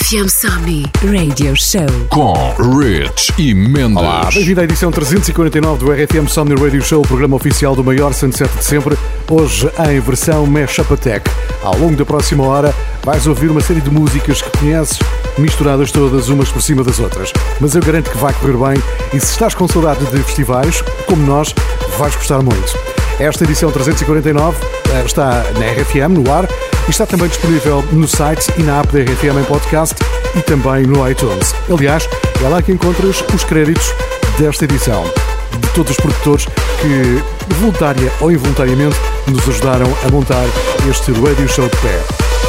RFM Somni Radio Show com Rich e Mendes. Olá, bem-vindo à edição 349 do RFM Somni Radio Show, o programa oficial do maior sunset de sempre, hoje em versão Mashup Attack. Ao longo da próxima hora vais ouvir uma série de músicas que conheces, misturadas todas umas por cima das outras. Mas eu garanto que vai correr bem e se estás com saudade de festivais, como nós, vais gostar muito. Esta edição 349 está na RFM, no ar, e está também disponível no site e na app da RFM em podcast e também no iTunes. Aliás, é lá que encontras os créditos desta edição, de todos os produtores que, voluntária ou involuntariamente, nos ajudaram a montar este radio show de pé.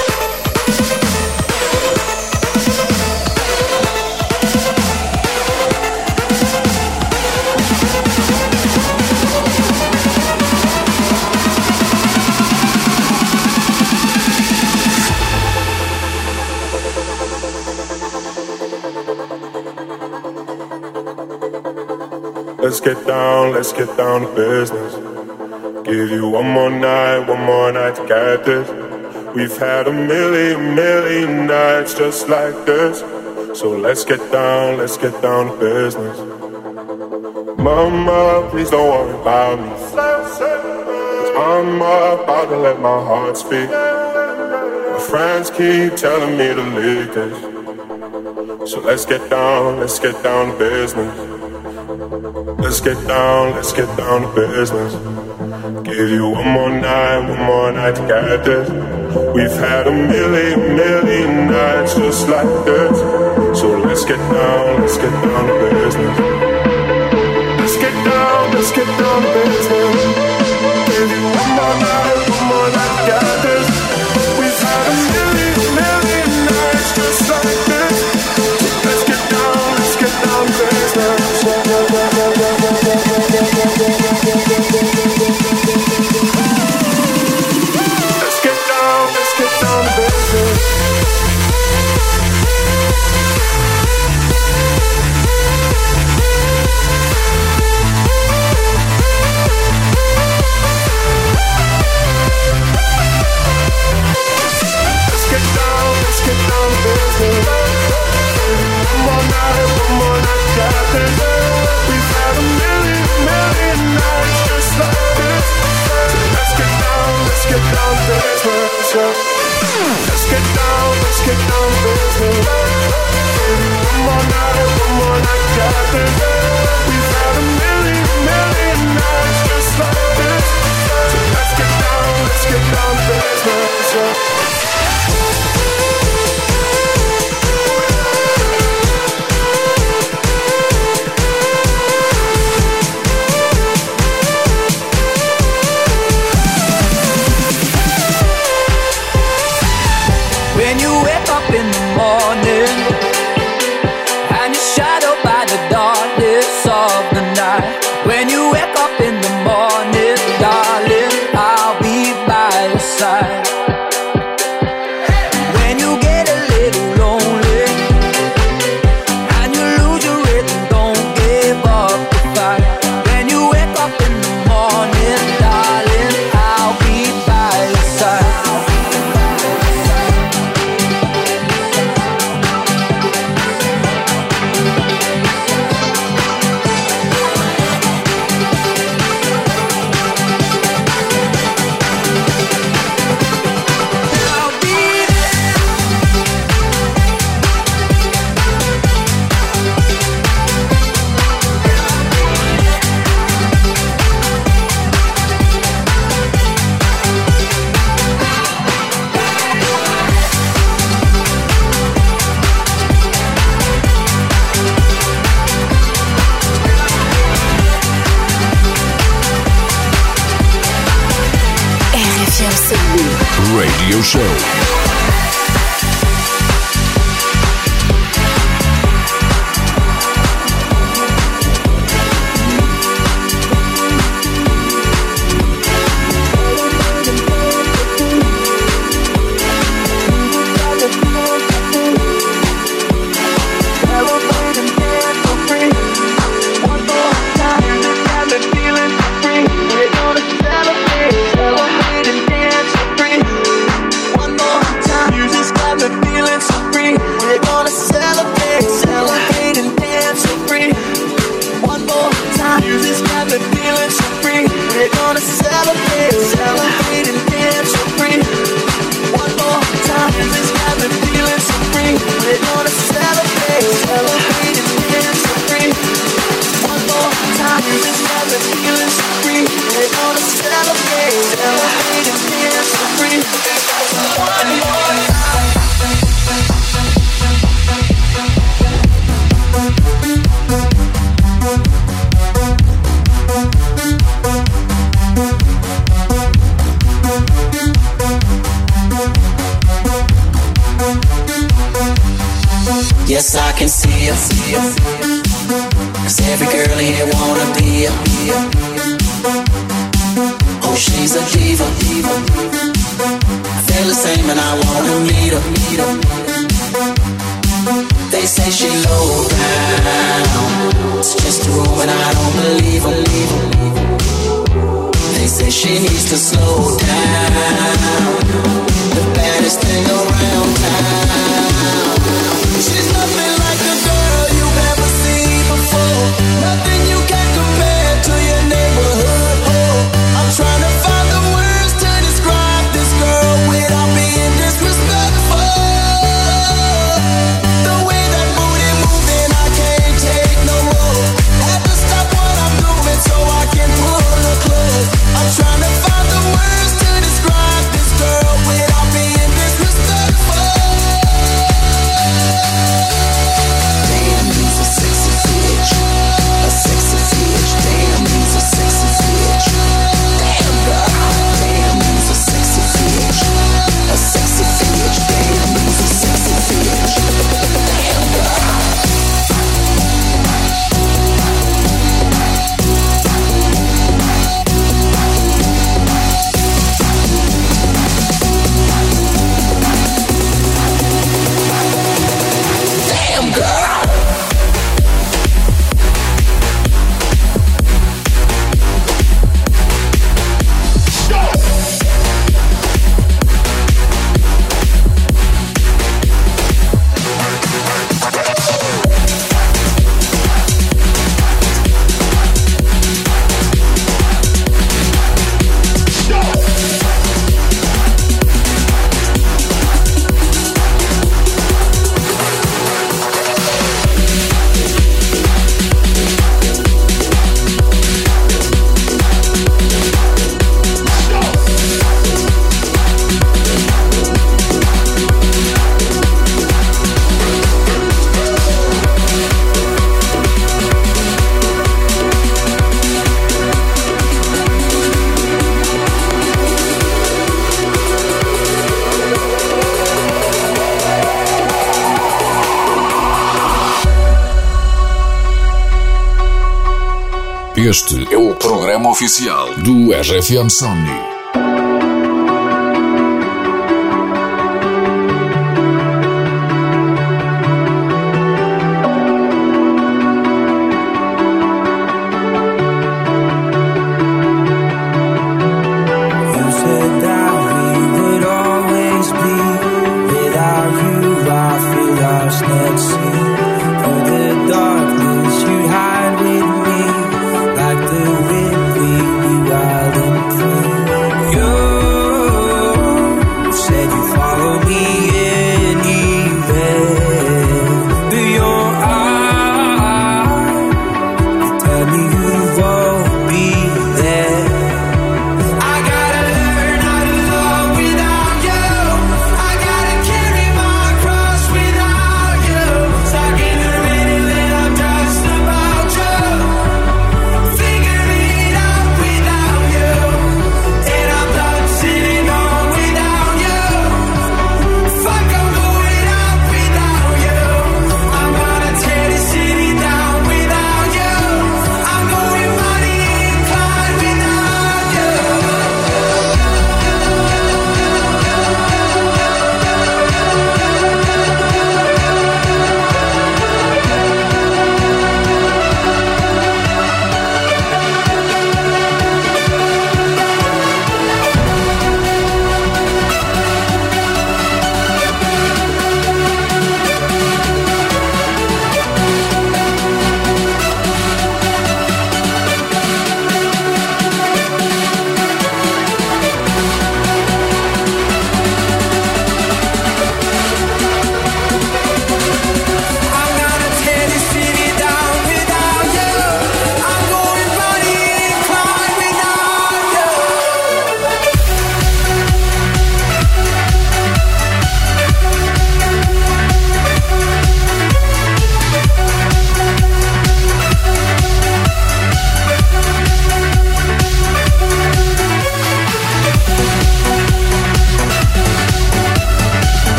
Let's get down to business. Give you one more night to get this. We've had a million nights just like this. So let's get down to business. Mama, please don't worry about me, 'cause I'm about to let my heart speak. My friends keep telling me to leave this. So let's get down to business. Let's get down to business. Give you one more night to get this. We've had a million nights just like this. So let's get down to business. Let's get down to business. Give you one more night to get this. We've had a million nights just like this. So let's get down to business. Radio Show. One more see her. 'Cause every girl here wanna be her. Oh, she's a diva. I feel the same and I wanna meet her. They say she low down, it's just a rumor and I don't believe them. They say she needs to slow down, the baddest thing around town. She's nothing like a girl you've ever seen before, nothing you can compare to your neighborhood. Oh, I'm trying to find the words to describe this girl without being disrespectful. The way that booty moving, I can't take no more. Have to stop what I'm doing so I can pull her close. I'm trying to find the words to describe this girl without being disrespectful. Damn, he's a sexy bitch. A sexy bitch. Damn, he's a sexy bitch. Damn, girl. Damn, he's a sexy bitch. A sexy bitch. Damn, he's a sexy bitch. Damn, girl. Damn, girl. Este é o programa oficial do RFM Somni. Like the wind, we be wild and free.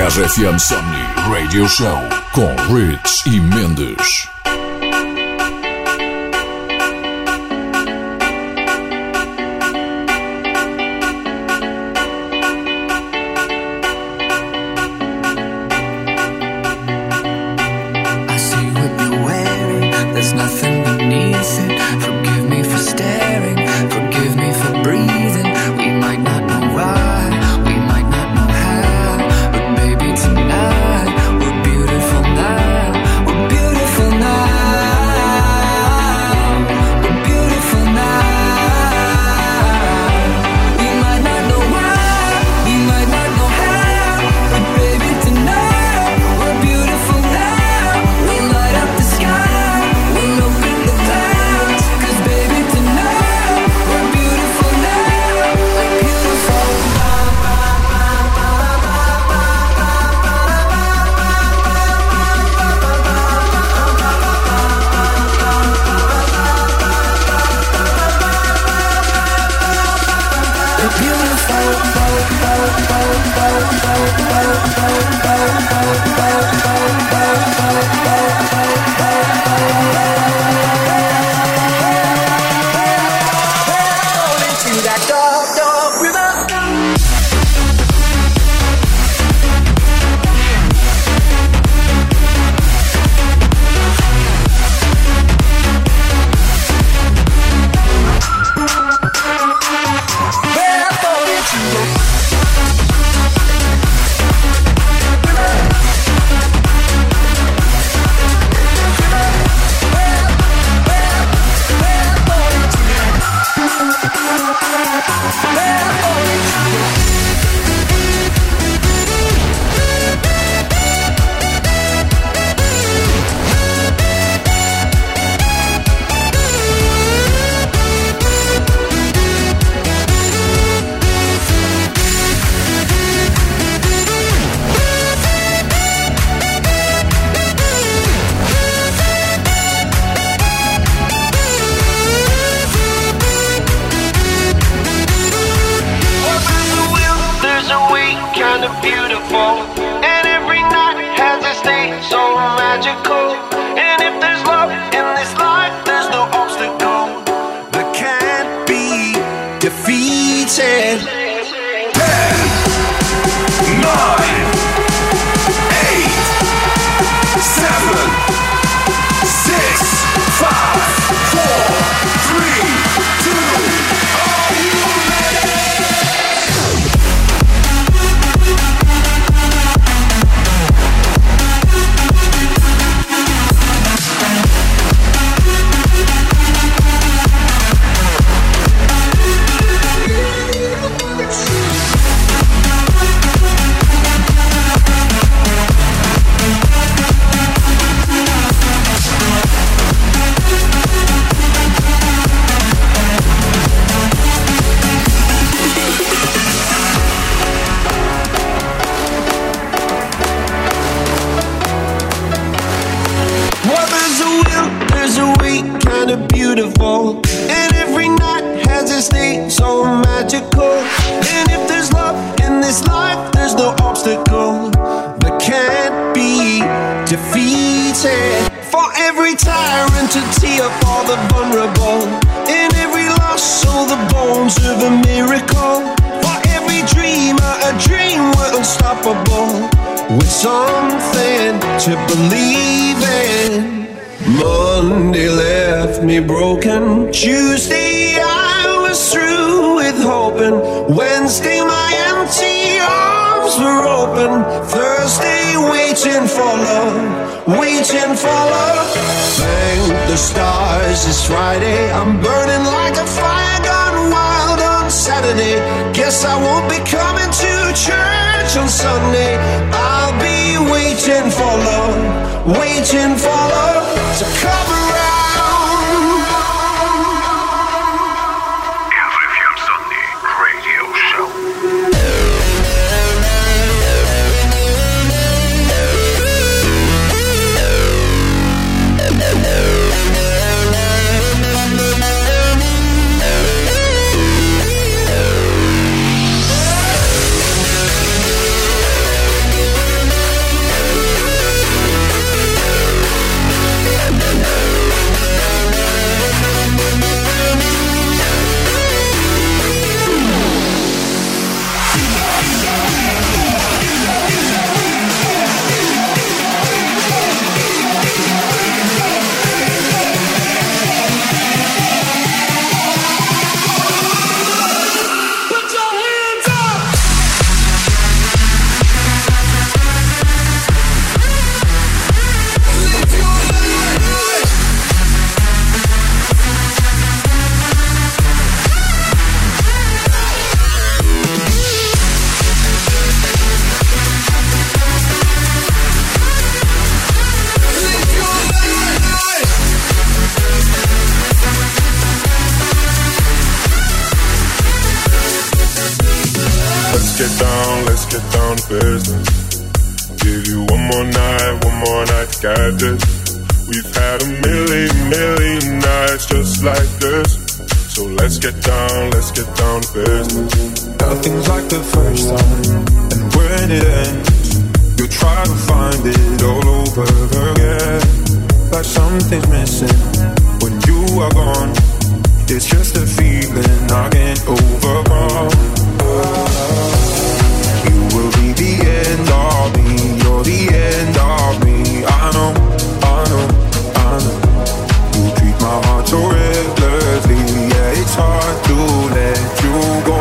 RFM Somni Radio Show com Rich e Mendes. Tuesday I was through with hoping. Wednesday my empty arms were open. Thursday waiting for love, waiting for love. Thank the stars it's Friday. I'm burning like a fire gone wild on Saturday. Guess I won't be coming to church on Sunday. I'll be waiting for love, waiting for love to come around. get down to business. Give you one more night to get this. We've had a million nights just like this. So let's get down to business. Nothing's like the first time, and when it ends, you'll try to find it all over again. Like something's missing when you are gone. It's just a feeling I can't overcome. You will be the end of me, you're the end of me. I know. You treat my heart so recklessly, yeah, it's hard to let you go.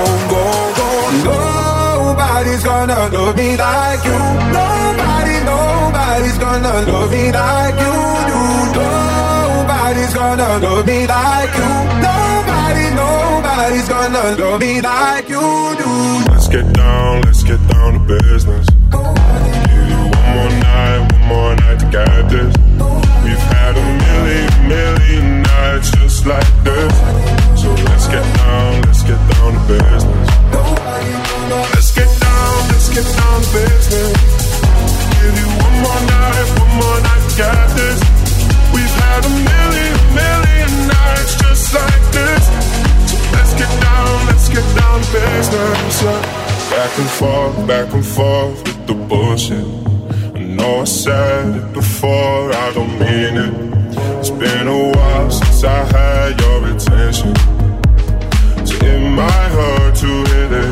Nobody's gonna love me like you. Nobody's gonna love me like you do. Nobody's gonna love me like you. Nobody's gonna love me like you do. Let's get down to business. Give you one more night to get this. We've had a million nights just like this. So let's get down to business. Let's get down to business. Give you one more night to get this. We've had a million nights just like this. So let's get down to business. Back and forth with the bullshit. I know I said it before, I don't mean it. It's been a while since I had your attention, so it might hurt to hit it.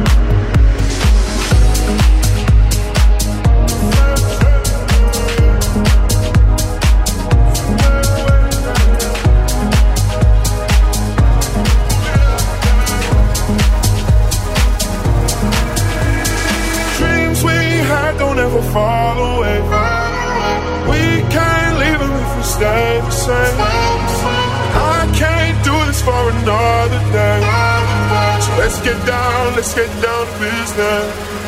Never fall away. We can't leave them if we stay the same. I can't do this for another day. So let's get down to business.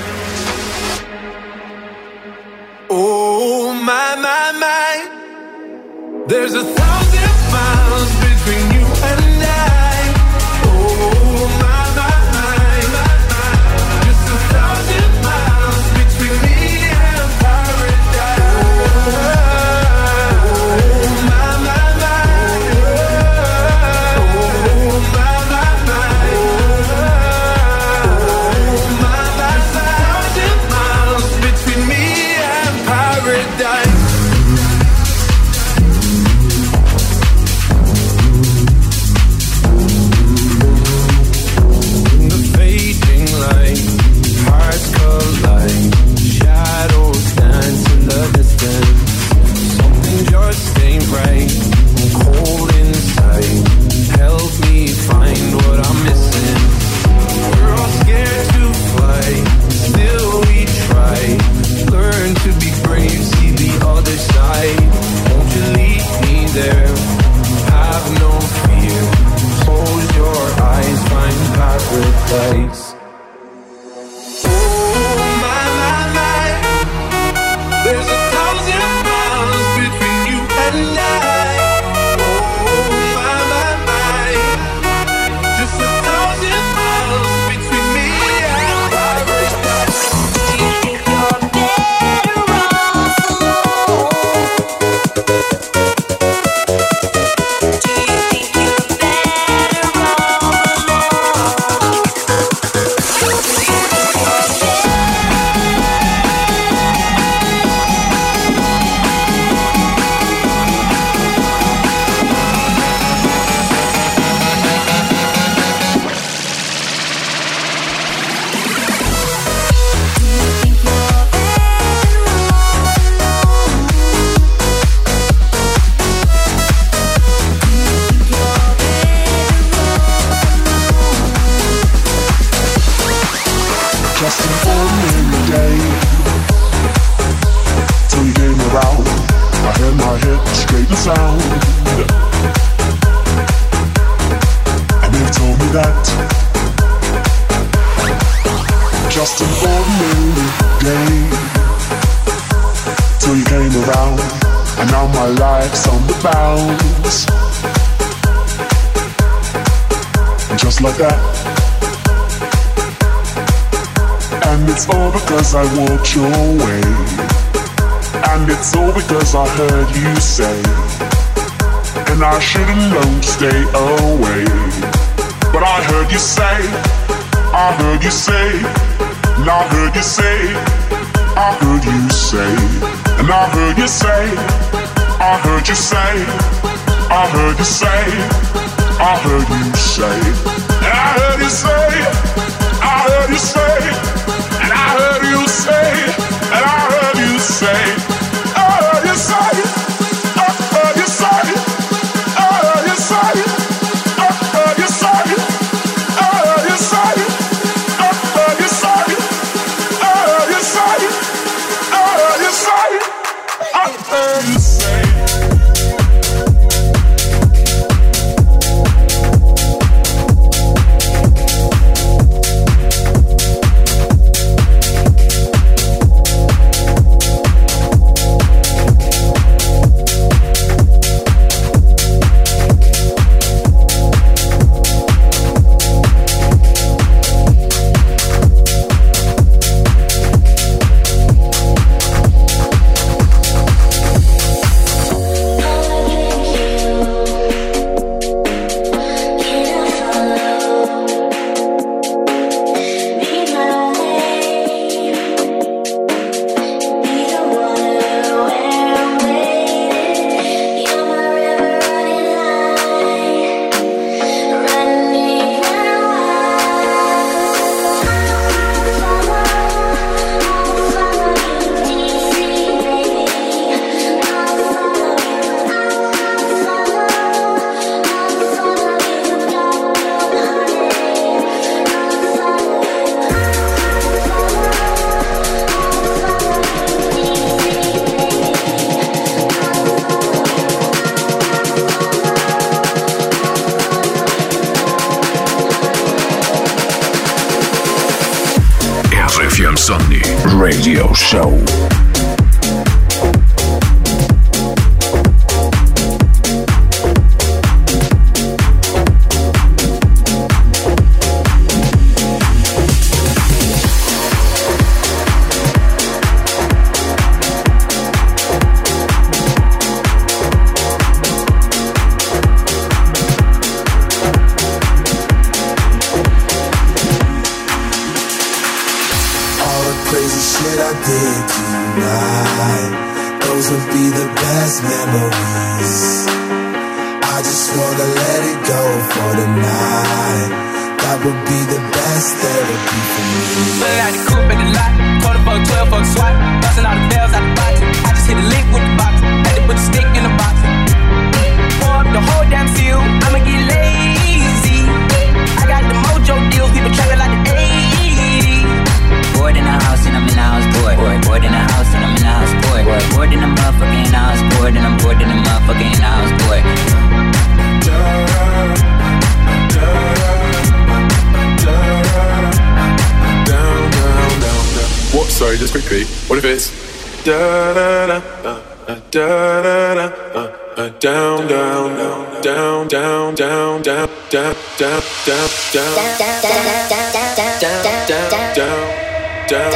Oh my, there's 1,000 miles between you and I. Oh my, just 1,000 miles between me. Just like that. And it's all because I walked your way. And it's all because I heard you say, and I should've known to stay away. But I heard you say, I heard you say, and I heard you say, I heard you say, and I heard you say, I heard you say, I heard you say, I heard you say, and I heard you say, I heard you say, and I heard you say, and I heard you say, I heard you say, I heard you say, I heard you say, I heard you say, I heard you say, I heard you say, I heard you say, I heard you say, I heard you say. Insomni Radio Show. Memories. I just wanna let it go for the night. That would be the best therapy for me. Pulling out the coupe at the lot, quarter fuck, 12 fuck swat, busting all the bells out the box. I just hit a lick with the box, had to put the stick in the box. Pour up the whole damn seal, I'ma get lazy. I got the mojo deals, people trapping like the 80s. Bored in the house and I'm in the house bored. Bored in the house and I'm in the house bored. Bored in the motherfucking house bored, and I'm bored in the motherfucking house bored. Down, down, down, down. What? Sorry, just quickly. What if it's da da da da da da down, down, down, down, down, down, down, down, down, down, down, down, down,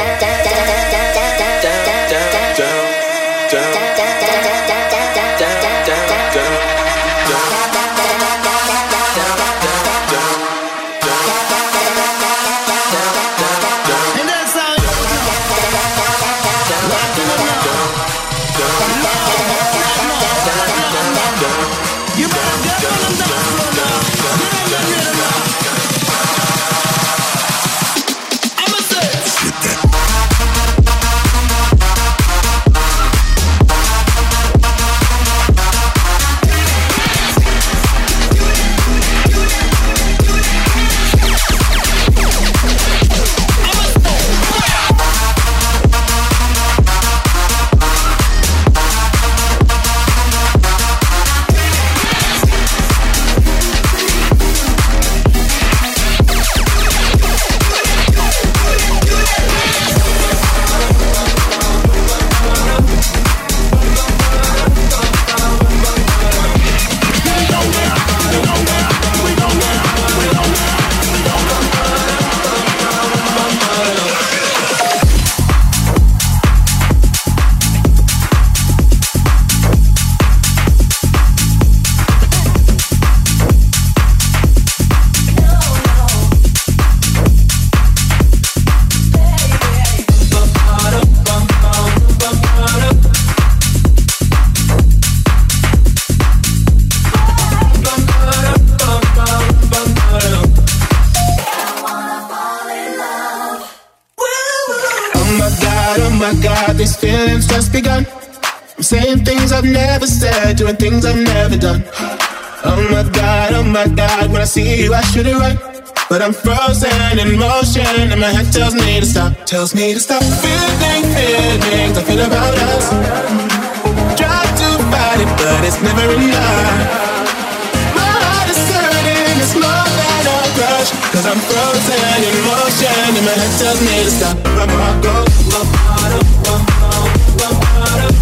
God, these feelings just begun. I'm saying things I've never said, doing things I've never done. Oh my God, when I see you I should it right. But I'm frozen in motion and my head tells me to stop. Tells me to stop feeling feelings I feel about us. Try to fight it but it's never enough. My heart is hurting, it's more than a crush. Cause I'm frozen in motion and my head tells me to stop. My heart goes, my heart up, my heart up.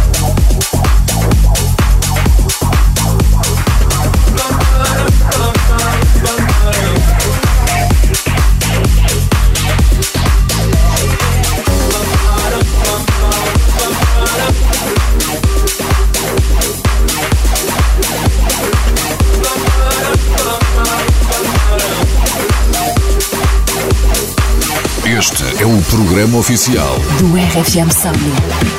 Este é o programa oficial do RFM Somni.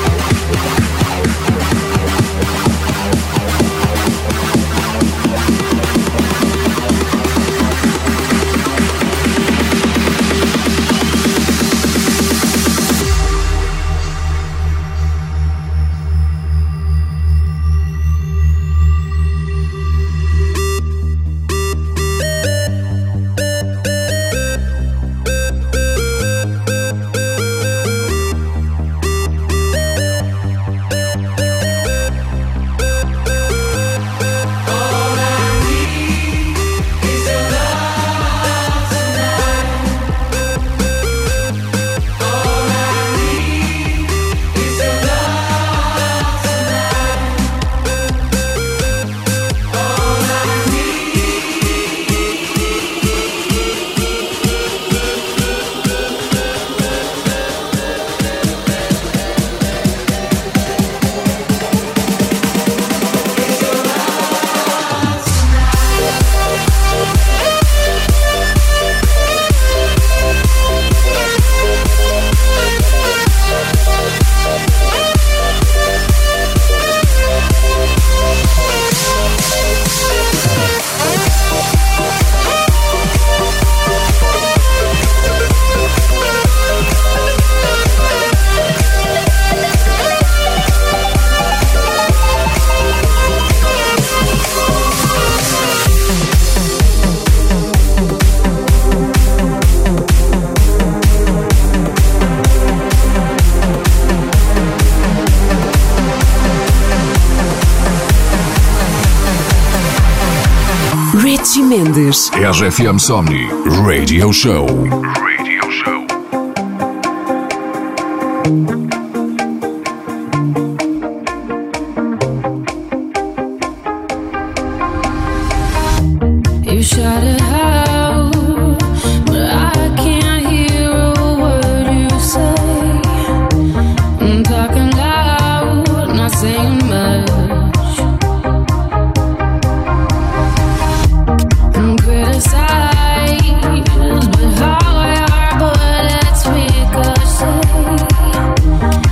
Mendes. RFM Somni Radio Show. You shot it out, but I can't hear a word you say. I'm talking loud, not saying much. Criticize, but how I are bullets ricochet.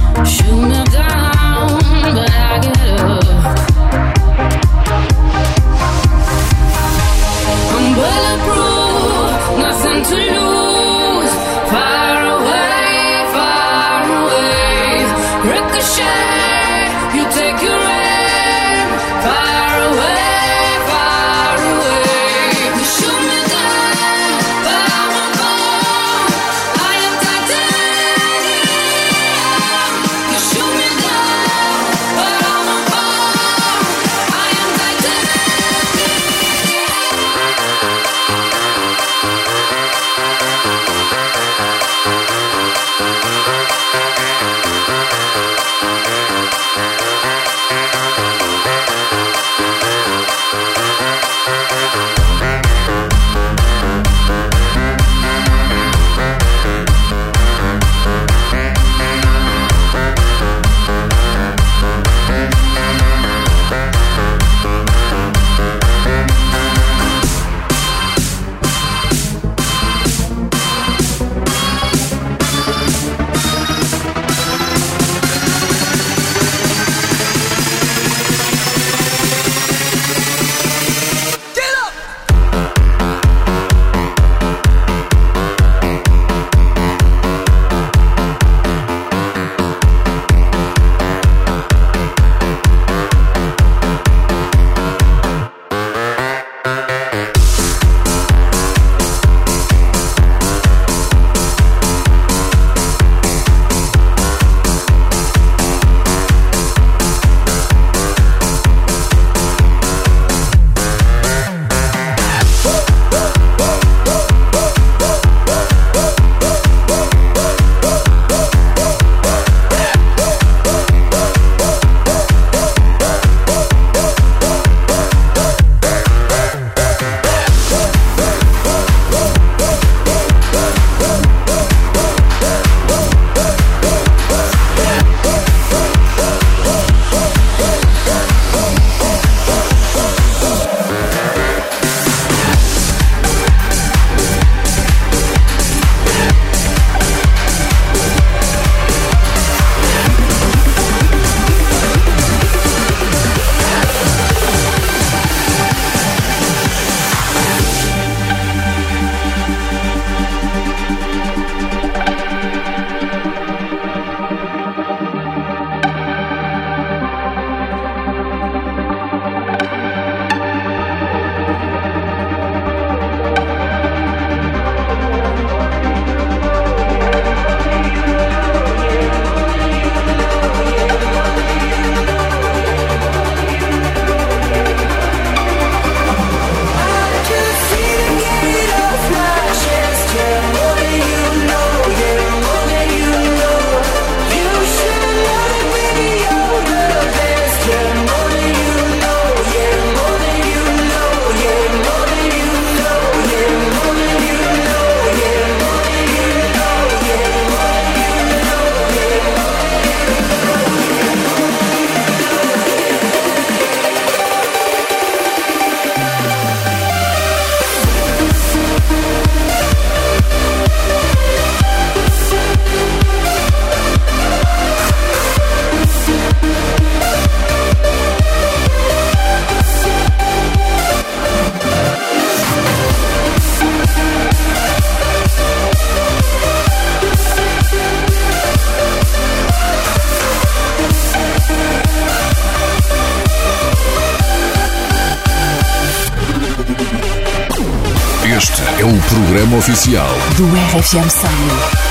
programa oficial do RFM Somni.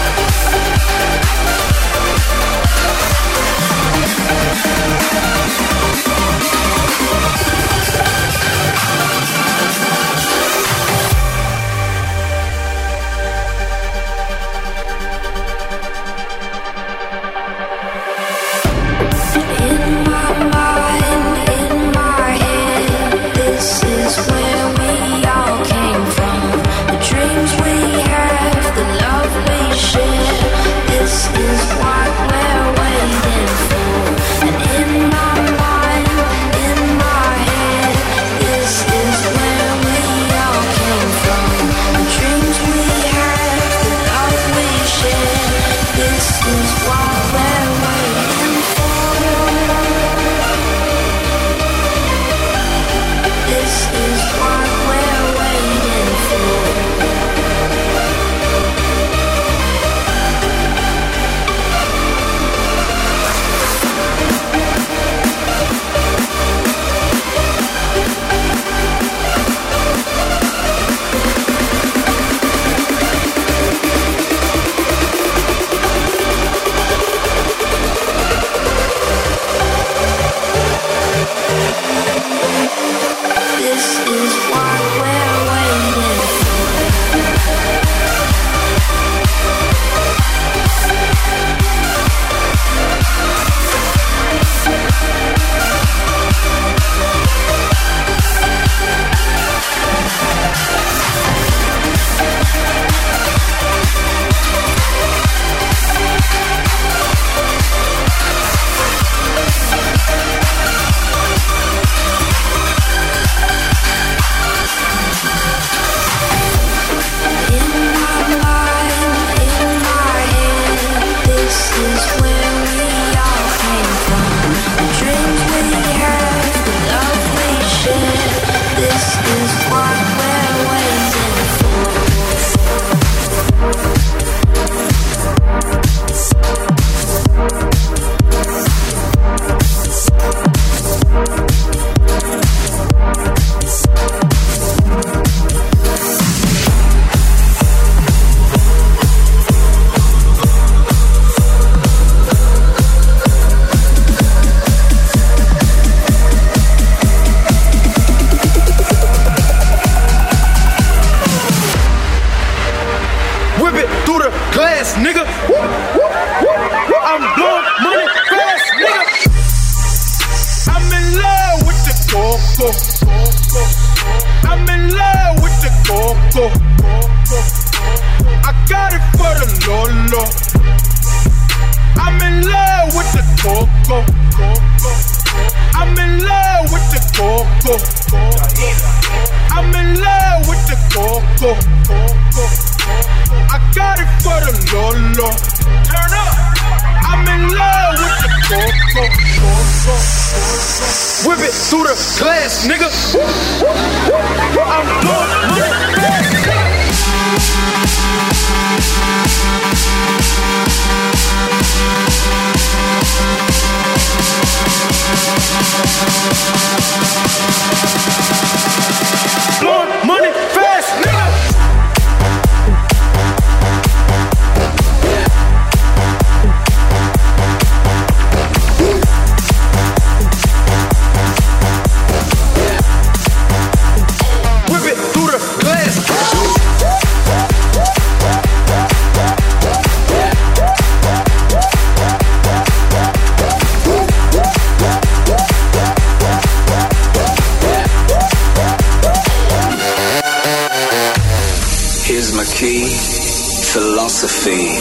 Philosophy.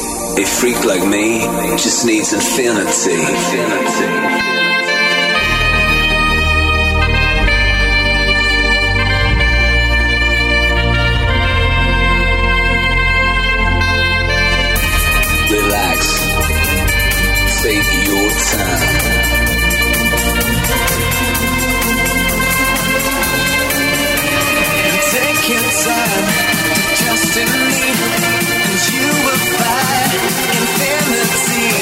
A freak like me just needs infinity. Relax. Take your time. Take your time to trust in me. You will find infinity,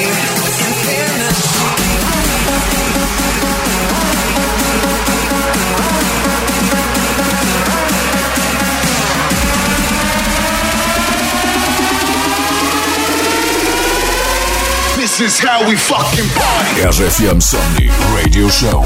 infinity. This is how we fucking party. RFM Somni Radio Show.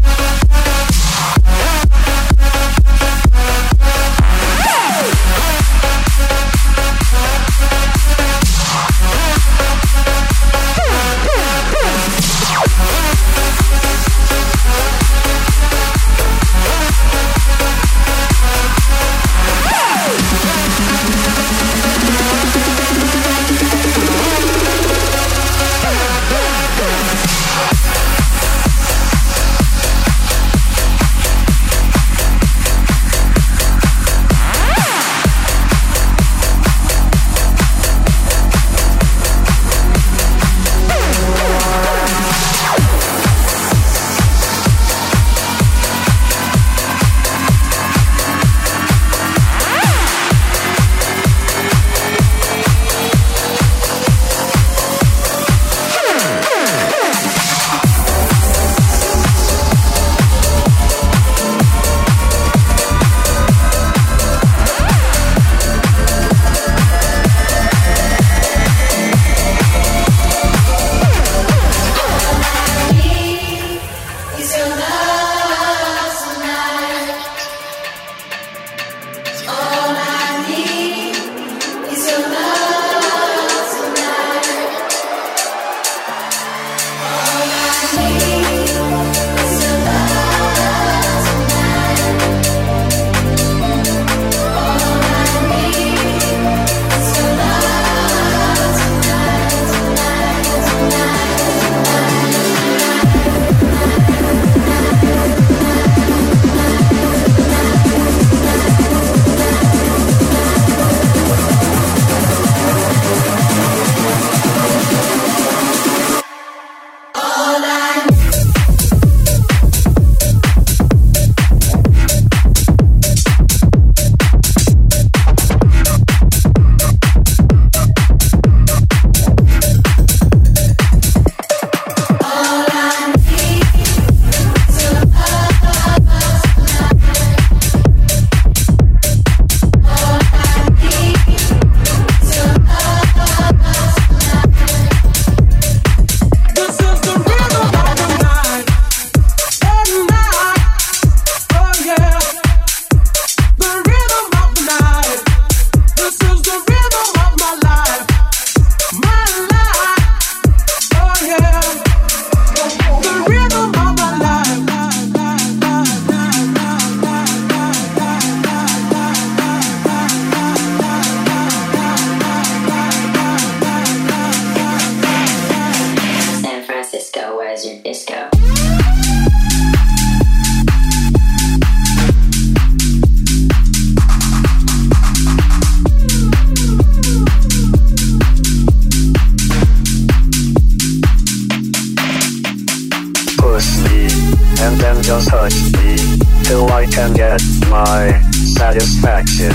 just touch me till I can get my satisfaction.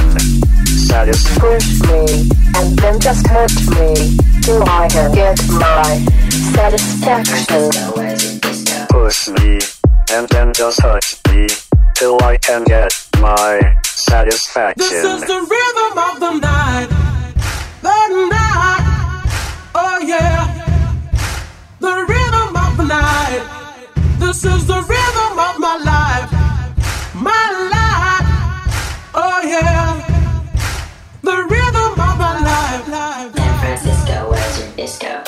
Push me and then just hurt me till I can get my satisfaction. Push me and then just touch me till I can get my satisfaction. This is the rhythm of the night. The night. Oh yeah. The rhythm of the night. This is the rhythm of my life. My life. Oh yeah. The rhythm of my life. San Francisco, where's your disco?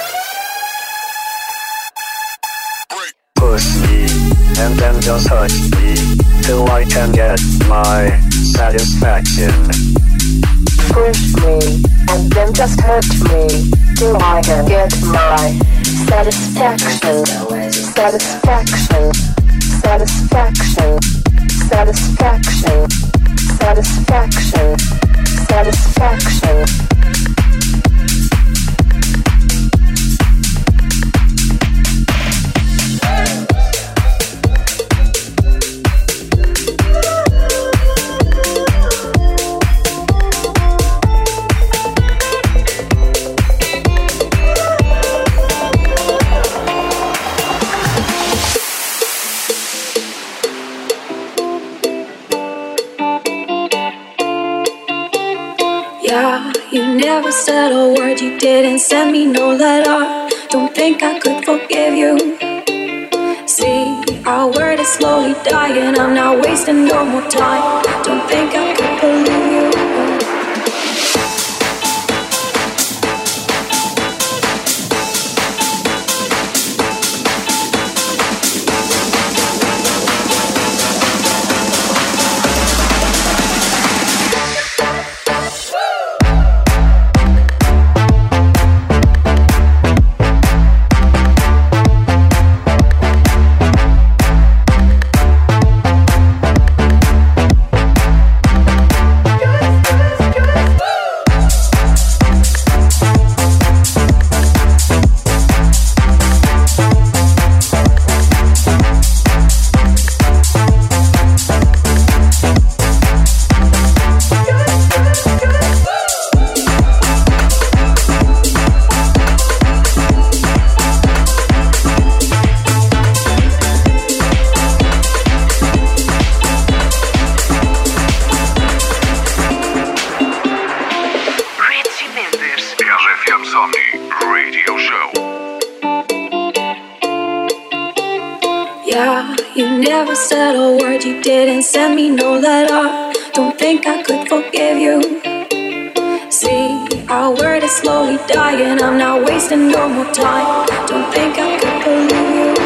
Push me and then just touch me till I can get my satisfaction. Push me and then just hurt me till I can get my satisfaction. Satisfaction. Satisfaction. Satisfaction. Satisfaction. Satisfaction. Yeah, you never said a word, you didn't send me no letter. don't think I could forgive you. See, our word is slowly dying. I'm not wasting no more time. Don't think I could believe you. Said a word, you didn't send me no letter. Don't think I could forgive you. See, our word is slowly dying. I'm not wasting no more time. Don't think I could believe you.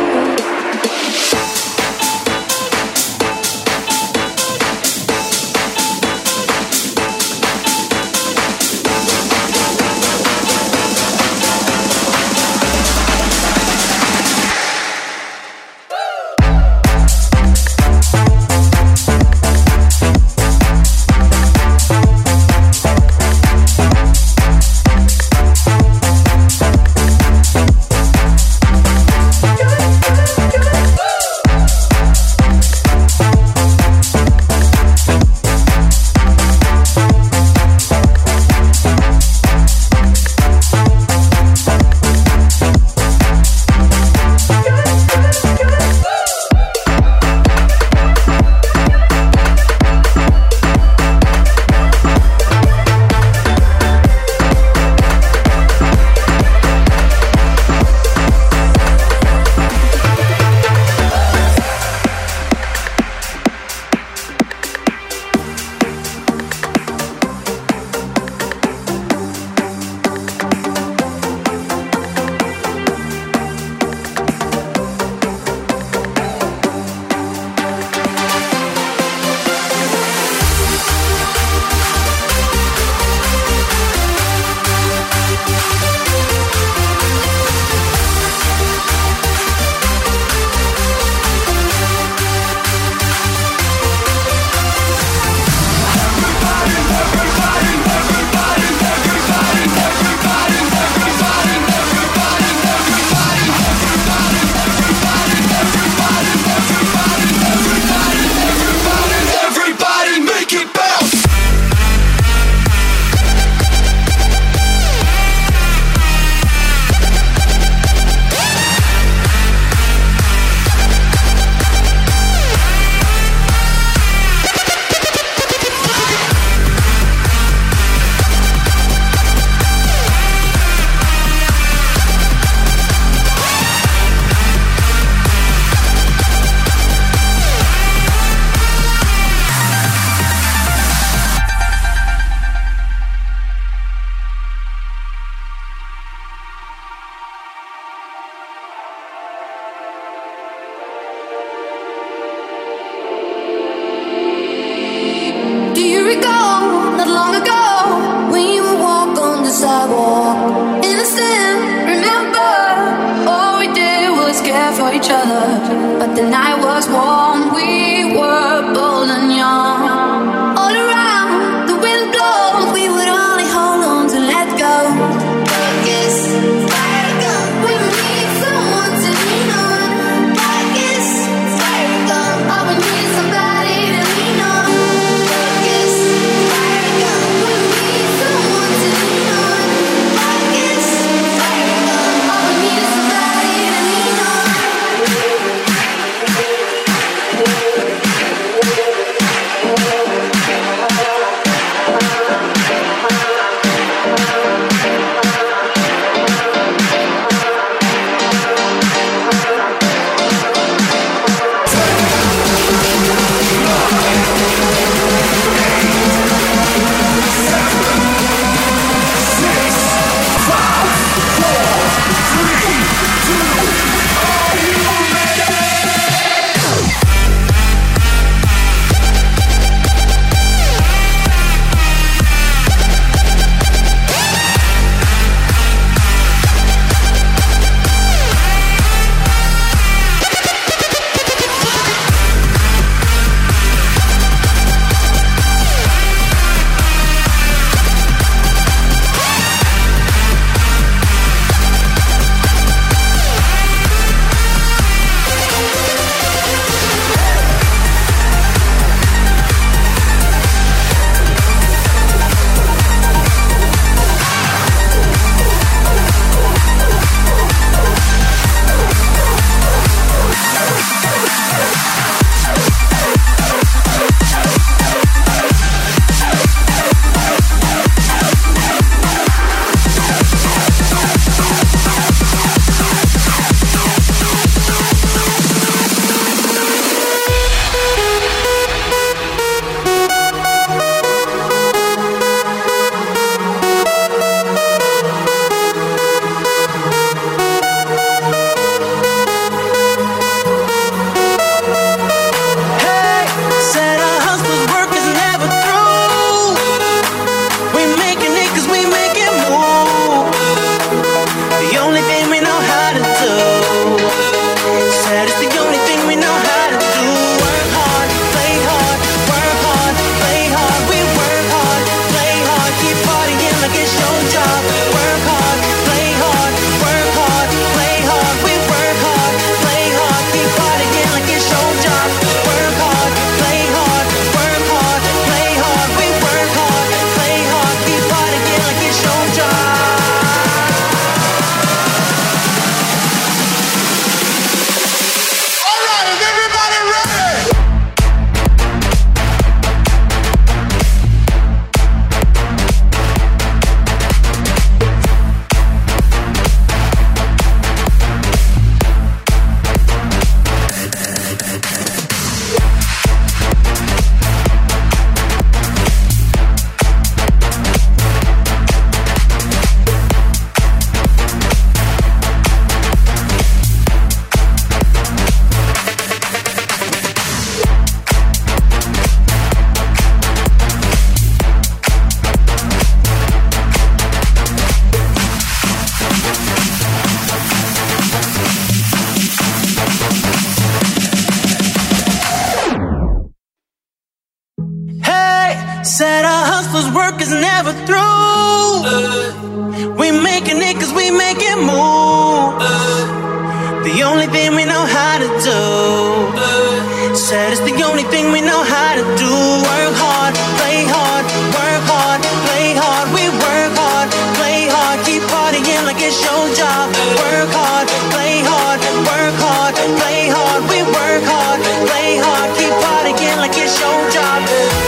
work is never through. We making it cause we make it move. The only thing we know how to do. Said it's the only thing we know how to do. Work hard, play hard, work hard, play hard. We work hard, play hard, keep partying like it's your job. Work hard, play hard, work hard, play hard. We work hard, play hard, keep partying like it's your job.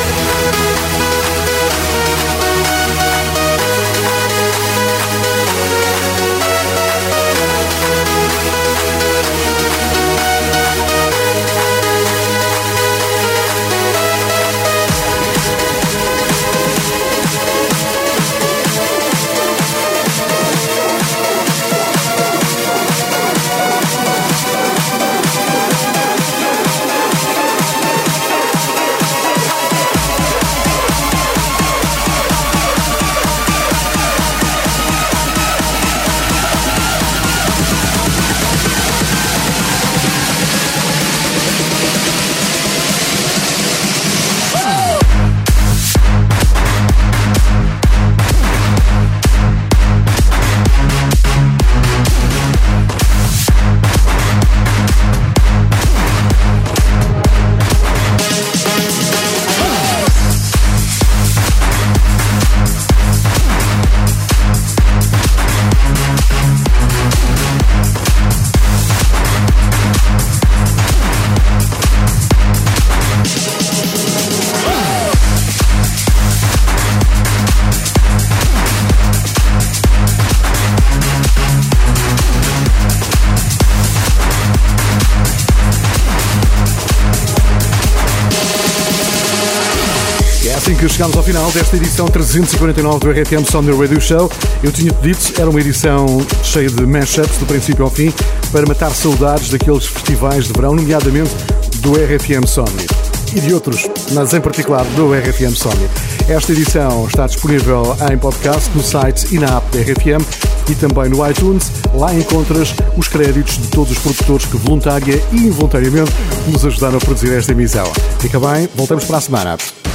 Que chegamos ao final desta edição 349 do RFM Somni Radio Show. Eu tinha dito, era uma edição cheia de mashups do princípio ao fim para matar saudades daqueles festivais de verão, nomeadamente do RFM Somni e de outros, mas em particular do RFM Somni. Esta edição está disponível em podcast no site e na app da RFM e também no iTunes. Lá encontras os créditos de todos os produtores que voluntária e involuntariamente nos ajudaram a produzir esta emissão. Fica bem, voltamos para a semana.